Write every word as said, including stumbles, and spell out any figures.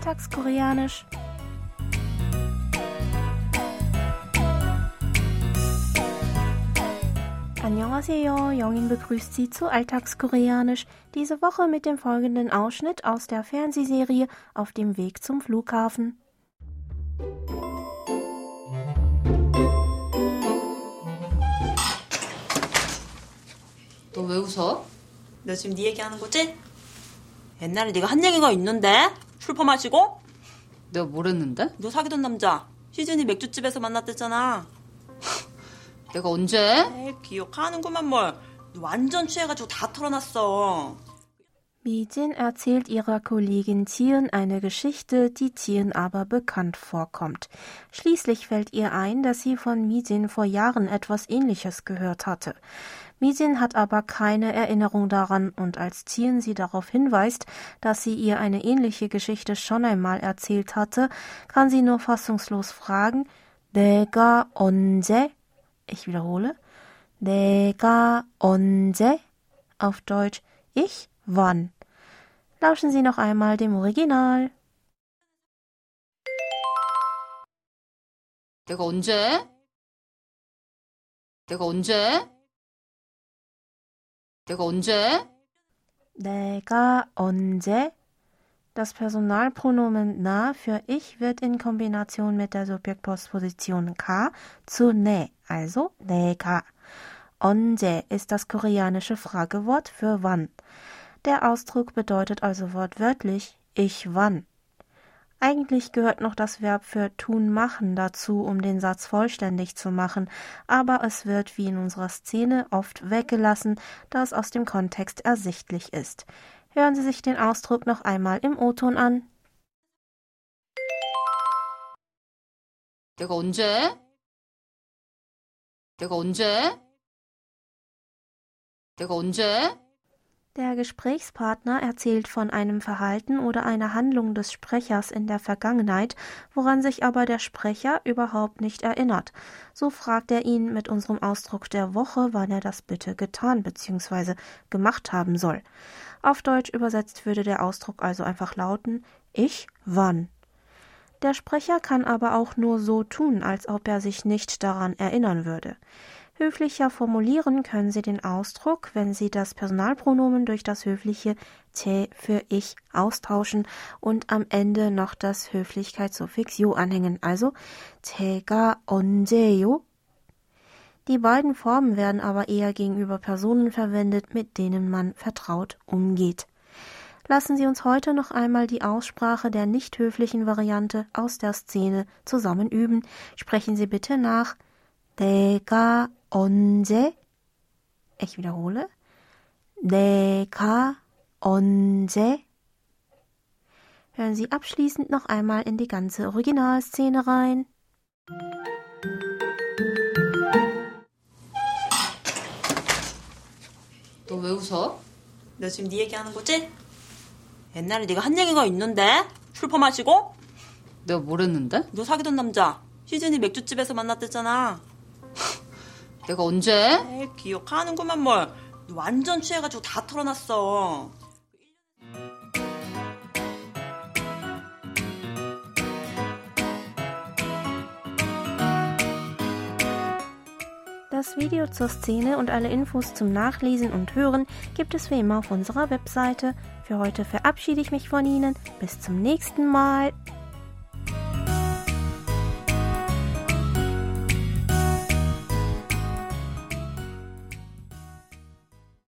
Alltagskoreanisch. Annyeonghaseyo, Jongin begrüßt Sie zu Alltagskoreanisch, diese Woche mit dem folgenden Ausschnitt aus der Fernsehserie Auf dem Weg zum Flughafen. 너 왜 웃어? 너 지금 네 얘기하는 거지? 옛날에 네가 한 얘기가 있는데? 술 퍼마시고? 내가 뭘 했는데? 너 사귀던 남자 시즌이 맥주집에서 만났댔잖아. 내가 언제? 에이, 기억하는구만 뭘. 너 완전 취해가지고 다 털어놨어. Mijin erzählt ihrer Kollegin Jian eine Geschichte, die Jian aber bekannt vorkommt. Schließlich fällt ihr ein, dass sie von Mijin vor Jahren etwas Ähnliches gehört hatte. Mijin hat aber keine Erinnerung daran und als Jian sie darauf hinweist, dass sie ihr eine ähnliche Geschichte schon einmal erzählt hatte, kann sie nur fassungslos fragen, 내가 언제? Ich wiederhole, 내가 언제? Auf Deutsch, ich? Wann? Lauschen Sie noch einmal dem Original. 내가 언제? 내가 언제? 내가 언제? 내가 언제? Das Personalpronomen na für ich wird in Kombination mit der Subjektpostposition ka zu ne, also 내가. 언제 ist das koreanische Fragewort für wann. Der Ausdruck bedeutet also wortwörtlich ich wann. Eigentlich gehört noch das Verb für tun machen dazu, um den Satz vollständig zu machen, aber es wird wie in unserer Szene oft weggelassen, da es aus dem Kontext ersichtlich ist. Hören Sie sich den Ausdruck noch einmal im O-Ton an. 내가 언제? 내가 언제? 내가 언제? Der Gesprächspartner erzählt von einem Verhalten oder einer Handlung des Sprechers in der Vergangenheit, woran sich aber der Sprecher überhaupt nicht erinnert. So fragt er ihn mit unserem Ausdruck der Woche, wann er das bitte getan bzw. gemacht haben soll. Auf Deutsch übersetzt würde der Ausdruck also einfach lauten, ich wann. Der Sprecher kann aber auch nur so tun, als ob er sich nicht daran erinnern würde. Höflicher formulieren können Sie den Ausdruck, wenn Sie das Personalpronomen durch das höfliche 제 für ich austauschen und am Ende noch das Höflichkeitssuffix 요 anhängen, also 제가 언제요? Die beiden Formen werden aber eher gegenüber Personen verwendet, mit denen man vertraut umgeht. Lassen Sie uns heute noch einmal die Aussprache der nicht höflichen Variante aus der Szene zusammen üben. Sprechen Sie bitte nach. 내가 언제? Ich wiederhole. 내가 언제? Hören Sie abschließend noch einmal in die ganze Originalszene rein. 너 왜 웃어? 너 지금 네 얘기하는 거지? 옛날에 네가 한 얘기가 있는데? 술 퍼마시고? 내가 뭘 했는데? 너 사귀던 남자 시즌이 맥주집에서 만났댔잖아. 내가 언제? 에이, 기억하는구만 뭘. 너 완전 취해가지고 다 털어놨어. Das Video zur Szene und alle Infos zum Nachlesen und Hören gibt es wie immer auf unserer Webseite. Für heute verabschiede ich mich von Ihnen. Bis zum nächsten Mal.